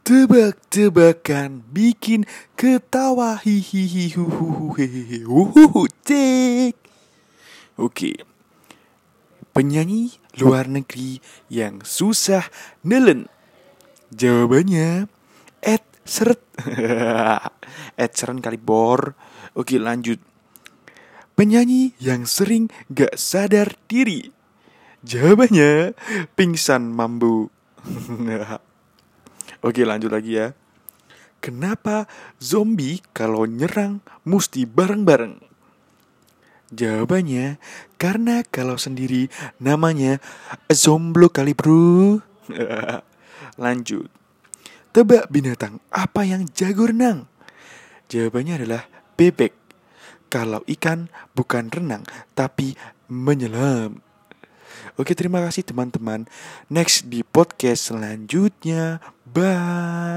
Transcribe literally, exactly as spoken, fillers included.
Tebak-tebakan bikin ketawa hihihi huhuhu hehehe huhuhu cek. Oke, penyanyi luar negeri yang susah nelen. Jawabannya Ed Seret. Ed Sheeran kali bor. Oke, lanjut. Penyanyi yang sering gak sadar diri. Jawabannya pingsan mambu. Oke, lanjut lagi ya. Kenapa zombie kalau nyerang mesti bareng-bareng? Jawabannya karena kalau sendiri namanya zomblo kali bro. Lanjut. Tebak binatang apa yang jago renang? Jawabannya adalah bebek. Kalau ikan bukan renang tapi menyelam. Oke, terima kasih teman-teman. Next di podcast selanjutnya. Bye.